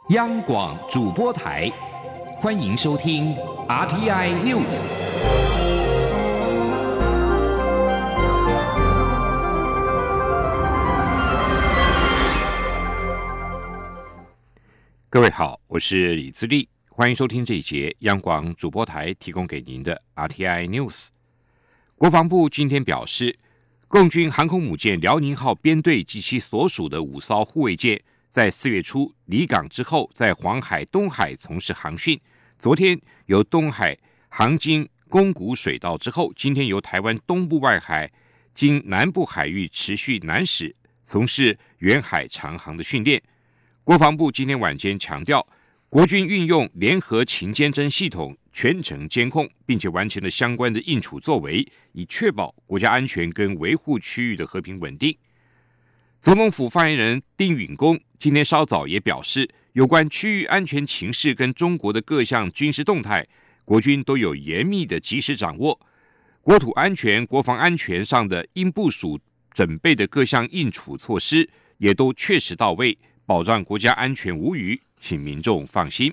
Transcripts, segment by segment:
央广主播台，欢迎收听 RTI News。各位好，我是李自立，欢迎收听这一节央广主播台提供给您的 RTI News。国防部今天表示，共军航空母舰辽宁号编队及其所属的5艘护卫舰，在4月初离港之后，在黄海、东海从事航训。昨天由东海航经宫古水道之后，今天由台湾东部外海经南部海域持续南驶，从事远海长航的训练。国防部今天晚间强调，国军运用联合情监侦系统全程监控，并且完成了相关的应处作为，以确保国家安全跟维护区域的和平稳定。总统府发言人丁允恭今天稍早也表示，有关区域安全情势跟中国的各项军事动态，国军都有严密的及时掌握，国土安全、国防安全上的应部署准备的各项应处措施也都确实到位，保障国家安全无虞，请民众放心。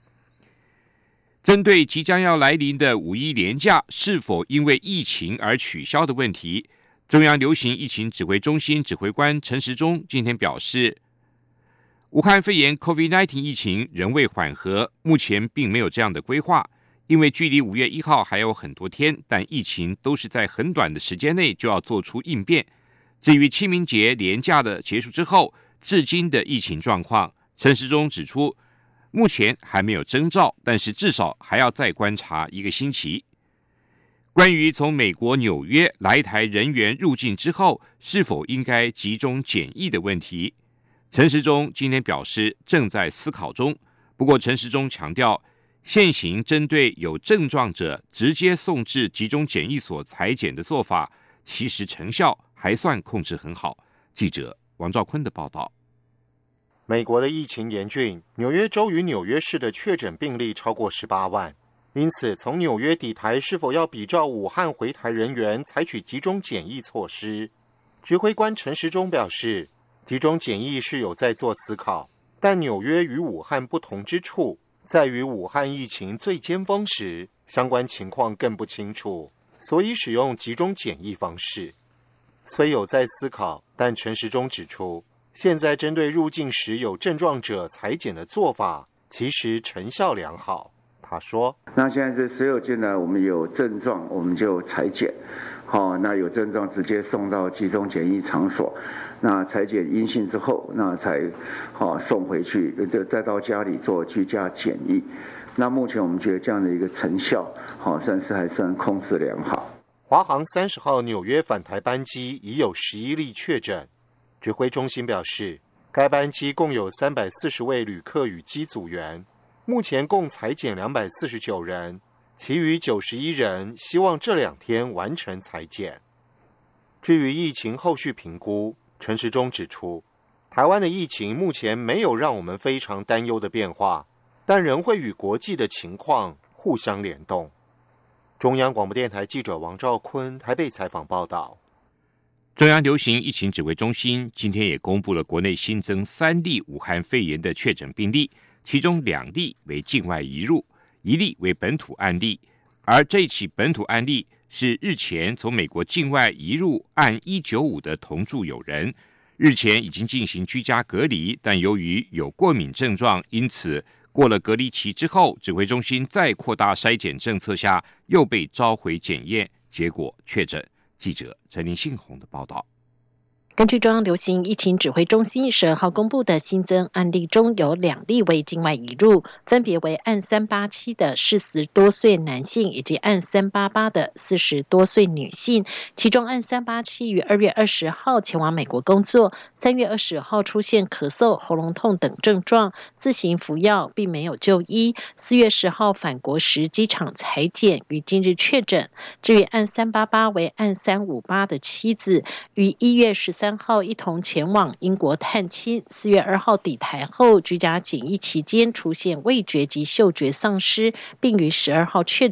针对即将要来临的5·1连假是否因为疫情而取消的问题，中央流行疫情指挥中心指挥官陈时中今天表示，武汉肺炎 COVID-19 疫情仍未缓和，目前并没有这样的规划，因为距离5月1号还有很多天，但疫情都是在很短的时间内就要做出应变。至于清明节连假的结束之后，至今的疫情状况，陈时中指出，目前还没有征兆，但是至少还要再观察1个星期。关于从美国纽约来台人员入境之后是否应该集中检疫的问题，陈时中今天表示正在思考中。不过陈时中强调，现行针对有症状者直接送至集中检疫所采检的做法，其实成效还算控制很好。记者王兆坤的报道。 美国的疫情严峻，纽约州与纽约市的确诊病例超过18万。因此，从纽约抵台是否要比照武汉回台人员采取集中检疫措施？指挥官陈时中表示，集中检疫是有在做思考，但纽约与武汉不同之处在于武汉疫情最尖峰时，相关情况更不清楚，所以使用集中检疫方式。虽有在思考，但陈时中指出，现在针对入境时有症状者采检的做法，其实成效良好。他说， 那现在这所有进来我们有症状我们就采检，那有症状直接送到集中检疫场所，那采检阴性之后，那才送回去，再到家里做居家检疫。那目前我们觉得这样的一个成效算是还算控制良好。 华航30号纽约返台班机已有11例确诊，指挥中心表示，该班机共有340位旅客与机组员，目前共采检249人，其余91人希望这2天完成采检。至于疫情后续评估，陈时中指出，台湾的疫情目前没有让我们非常担忧的变化，但仍会与国际的情况互相联动。中央广播电台记者王兆坤台北采访报道。 中央流行疫情指挥中心今天也公布了国内新增3例武汉肺炎的确诊病例，其中2例为境外移入，1例为本土案例。而这起本土案例是日前从美国境外移入案195的同住友人，日前已经进行居家隔离，但由于有过敏症状，因此过了隔离期之后，指挥中心再扩大筛检政策下，又被召回检验，结果确诊。记者陈林信宏的报道。 根据中央流行疫情指挥中心12号公布的新增案例中，有2例为境外移入，分别为案387的40多岁男性以及案388的40多岁女性。其中案387于2月20号前往美国工作，3月20号出现咳嗽、喉咙痛等症状，自行服药并没有就医。4月10号返国时机场采检，于今日确诊。至于案388为案358的妻子，于1月13号一同前往英国探亲，4月2号抵台后居家检疫期间出现味觉及嗅觉丧失，并于12号确诊。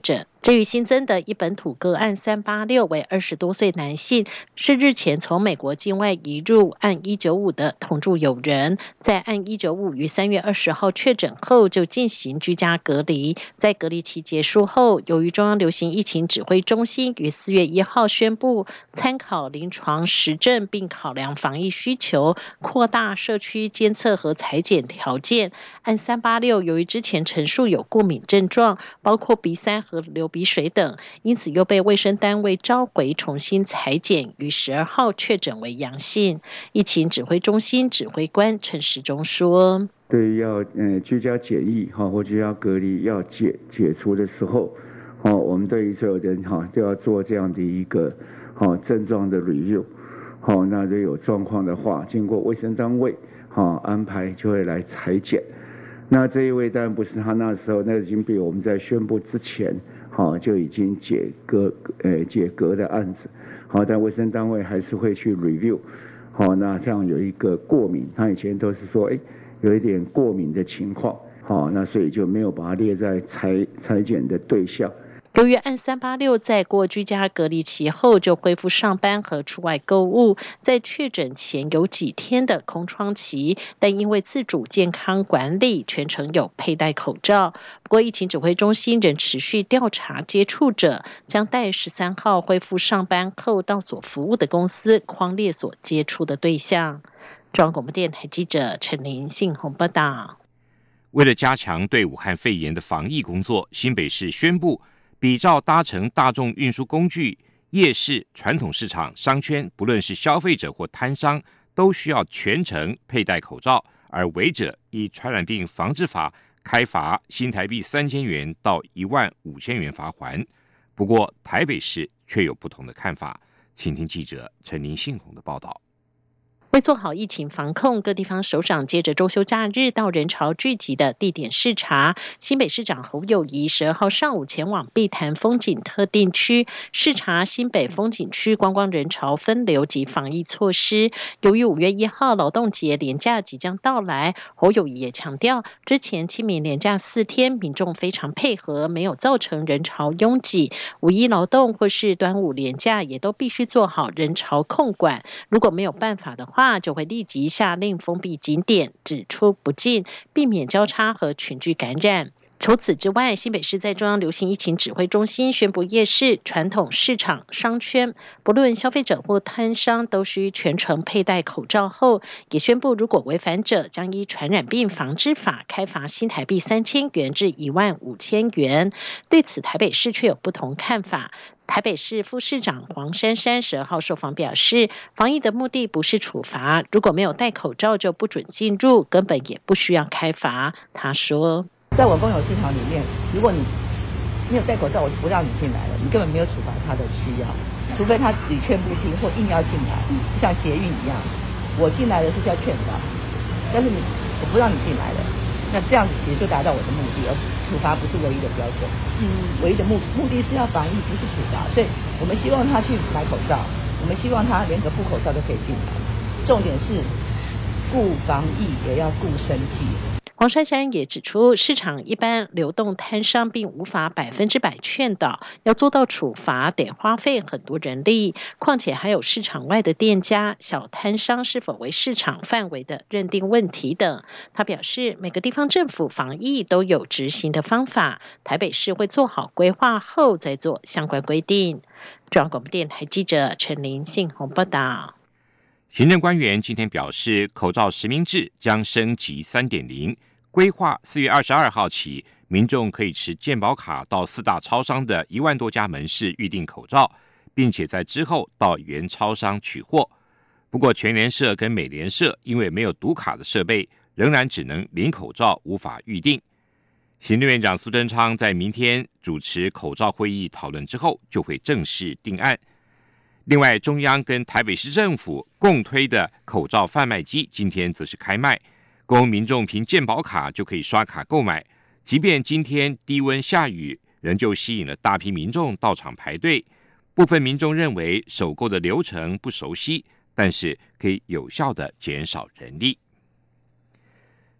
至于新增的一本土个案386为20多岁男性，是日前从美国境外移入案195的同住友人，在案195于3月20号确诊后就进行居家隔离，在隔离期结束后，由于中央流行疫情指挥中心于4月1号宣布，参考临床实证并考量防疫需求，扩大社区监测和采检条件，案386由于之前陈述有过敏症状，包括鼻塞和流鼻水等，因此又被卫生单位召回重新采检，于12号确诊为阳性。疫情指挥中心指挥官陈时中说：“ 对于要居家检疫或居家隔离要解除的时候，我们对于所有人都要做这样的一个症状的 review。那如果有状况的话，经过卫生单位安排就会来采检。那这一位当然不是他那时候，那已经比我们在宣布之前就已经解隔的案子。但卫生单位还是会去 review。那这样有一个过敏，他以前都是说有一点过敏的情况，那所以就没有把它列在采检的对象。 由于案386在过居家隔离期后就恢复上班和出外购物，在确诊前有几天的空窗期，但因为自主健康管理，全程有佩戴口罩。不过疫情指挥中心仍持续调查接触者，将待13号恢复上班后到所服务的公司匡列所接触的对象。中央广播电台记者陈琳信鸿报道。 为了加强对武汉肺炎的防疫工作，新北市宣布比照搭乘大众运输工具、夜市、传统市场、商圈，不论是消费者或摊商，都需要全程佩戴口罩，而违者以传染病防治法开罚新台币3000元到15000元罚锾。不过台北市却有不同的看法，请听记者陈林信宏的报道。 为做好疫情防控，各地方首长接着周休假日到人潮聚集的地点视察。新北市长侯友宜12号上午前往碧潭风景特定区视察新北风景区观光人潮分流及防疫措施。由于5月1号劳动节连假即将到来，侯友宜也强调，之前清明连假4天，民众非常配合，没有造成人潮拥挤。5一劳动或是端午连假也都必须做好人潮控管，如果没有办法的话，就会立即下令封闭景点，只出不进，避免交叉和群聚感染。除此之外，新北市在中央流行疫情指挥中心宣布，夜市、传统市场、商圈，不论消费者或摊商，都需全程佩戴口罩后，也宣布如果违反者，将依传染病防治法开罚新台币3000元至15000元。对此，台北市却有不同看法。台北市副市长黄珊珊12号受访表示，防疫的目的不是处罚，如果没有戴口罩就不准进入，根本也不需要开罚。他说， 在我公有市场里面，如果你没有戴口罩，我就不让你进来了，你根本没有处罚他的需要，除非他屡劝不听或硬要进来，就像捷运一样，我进来的是叫劝导，但是我不让你进来了，那这样子其实就达到我的目的，而处罚不是唯一的标准。唯一的目的是要防疫，不是处罚，所以我们希望他去买口罩，我们希望他连个布口罩都可以进来，重点是顾防疫也要顾生计。 黄珊珊也指出，市场一般流动摊商并无法100%劝导，要做到处罚得花费很多人力，况且还有市场外的店家、小摊商是否为市场范围的认定问题等。他表示，每个地方政府防疫都有执行的方法，台北市会做好规划后再做相关规定。中央广播电台记者陈琳信宏报道。 行政官员今天表示，口罩实名制将升级 3.0， 规划4月22号起，民众可以持健保卡到4大超商的1万多家门市预订口罩，并且在之后到原超商取货。不过全联社跟美联社因为没有读卡的设备，仍然只能领口罩，无法预订。行政院长苏贞昌在明天主持口罩会议讨论之后，就会正式定案。另外，中央跟台北市政府共推的口罩贩卖机今天则是开卖，供民众凭健保卡就可以刷卡购买。即便今天低温下雨，仍旧吸引了大批民众到场排队。部分民众认为首购的流程不熟悉，但是可以有效的减少人力。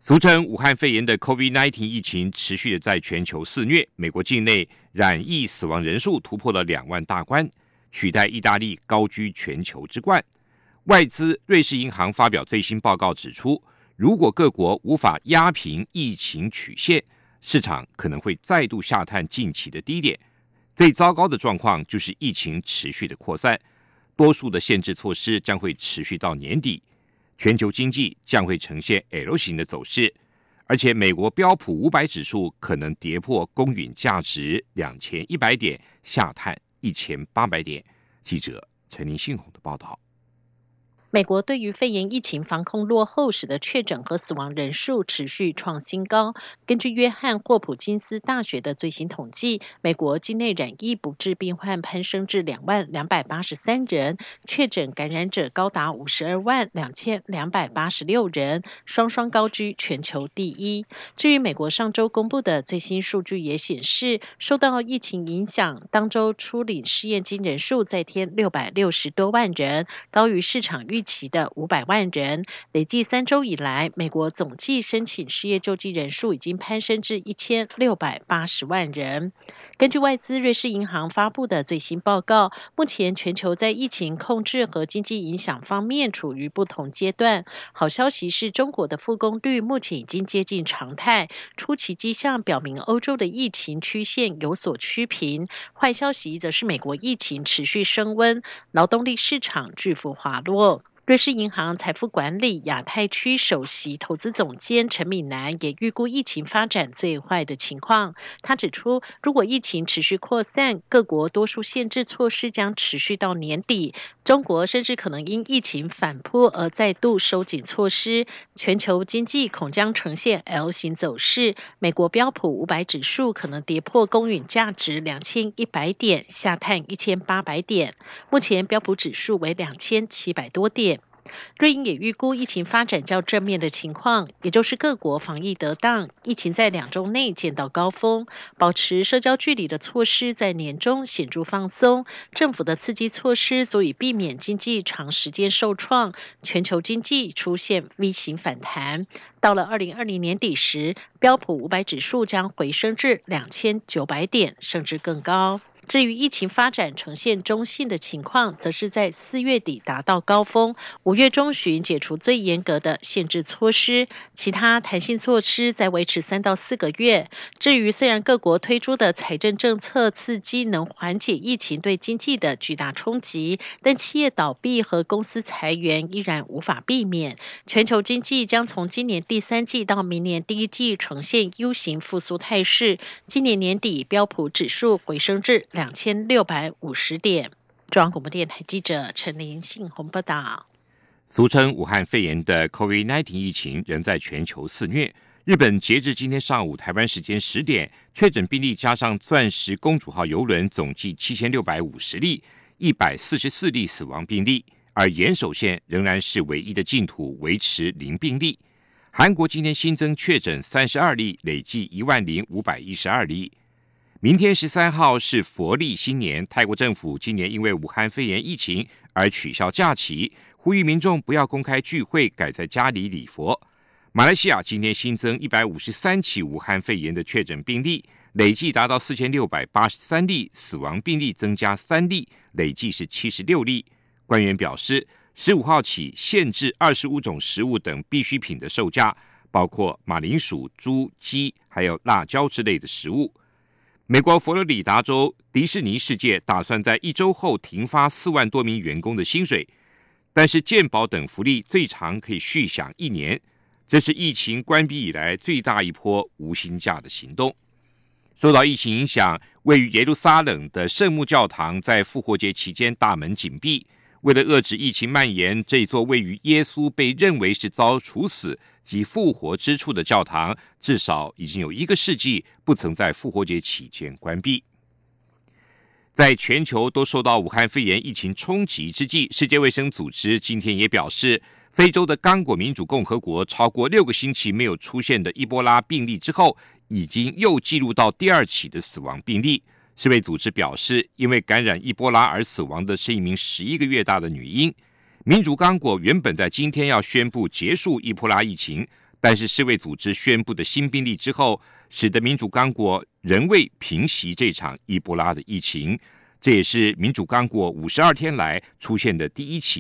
俗称武汉肺炎的 COVID-19 疫情持续的在全球肆虐，美国境内染疫死亡人数突破了2万大关，取代意大利高居全球之冠。外资瑞士银行发表最新报告指出，如果各国无法压平疫情曲线，市场可能会再度下探近期的低点。最糟糕的状况就是疫情持续的扩散，多数的限制措施将会持续到年底，全球经济将会呈现 L 型的走势，而且美国标普500指数可能跌破公允价值2100点，下探1800点。记者陈林信宏的报道。 美国对于肺炎疫情防控落后，使得确诊和死亡人数持续创新高。根据约翰霍普金斯大学的最新统计，美国境内染疫不治病患攀升至20283人，确诊感染者高达522286人，双双高居全球第一。至于美国上周公布的最新数据也显示，受到疫情影响，当周初领失业金人数再添660多万人，高于市场预期的500万人。累计3周以来，美国总计申请失业救济人数已经攀升至1680万人。根据外资瑞士银行发布的最新报告，目前全球在疫情控制和经济影响方面处于不同阶段。好消息是中国的复工率目前已经接近常态，初期迹象表明欧洲的疫情曲线有所趋平。坏消息则是美国疫情持续升温，劳动力市场巨幅滑落。瑞士银行财富管理亚太区首席投资总监陈敏南也预估疫情发展最坏的情况。他指出，如果疫情持续扩散，各国多数限制措施将持续到年底，中国甚至可能因疫情反扑而再度收紧措施，全球经济恐将呈现 L 型走势。美国标普500指数可能跌破公允价值2100点，下探1800点。目前标普指数为2700多点。瑞银也预估疫情发展较正面的情况，也就是各国防疫得当，疫情在2周内见到高峰，保持社交距离的措施在年中显著放松，政府的刺激措施足以避免经济长时间受创，全球经济出现 V 型反弹。到了2020年底时，标普500指数将回升至2900点，甚至更高。至于疫情发展呈现中性的情况，则是在4月底达到高峰，5月中旬解除最严格的限制措施，其他弹性措施再维持3到4个月。至于虽然各国推出的财政政策刺激能缓解疫情对经济的巨大冲击，但企业倒闭和公司裁员依然无法避免。全球经济将从今年第3季到明年第1季呈现 U 型复苏态势，今年年底标普指数回升至2650点。中央广播电台记者陈林信宏报道。 俗称武汉肺炎的 COVID-19 疫情仍在全球肆虐。日本截至今天上午台湾时间10点，确诊病例加上钻石公主号邮轮总计7650例，144例死亡病例，而岩手县仍然是唯一的净土，维持0病例。韩国今天新增确诊32例，累计10512例。明天13号是佛历新年，泰国政府今年因为武汉肺炎疫情而取消假期，呼吁民众不要公开聚会，改在家里礼佛。马来西亚今天新增153起武汉肺炎的确诊病例，累计达到4683例，死亡病例增加3例，累计是76例。官员表示，15号起限制25种食物等必需品的售价，包括马铃薯、猪、鸡，还有辣椒之类的食物。美国佛罗里达州迪士尼世界打算在1周后停发4万多名员工的薪水，但是健保等福利最长可以续享1年，这是疫情关闭以来最大一波无薪假的行动。受到疫情影响，位于耶路撒冷的圣母教堂在复活节期间大门紧闭。为了遏制疫情蔓延，这座位于耶稣被认为是遭处死及复活之处的教堂，至少已经有1个世纪不曾在复活节期间关闭。在全球都受到武汉肺炎疫情冲击之际，世界卫生组织今天也表示，非洲的刚果民主共和国超过6个星期没有出现的伊波拉病例之后，已经又记录到第2起的死亡病例。世卫组织表示，因为感染伊波拉而死亡的是一名11个月大的女婴。民主刚果原本在今天要宣布结束伊波拉疫情， 但是世卫组织宣布的新病例之后，使得民主刚果仍未平息这场伊波拉的疫情，这也是民主刚果52天来出现的第一起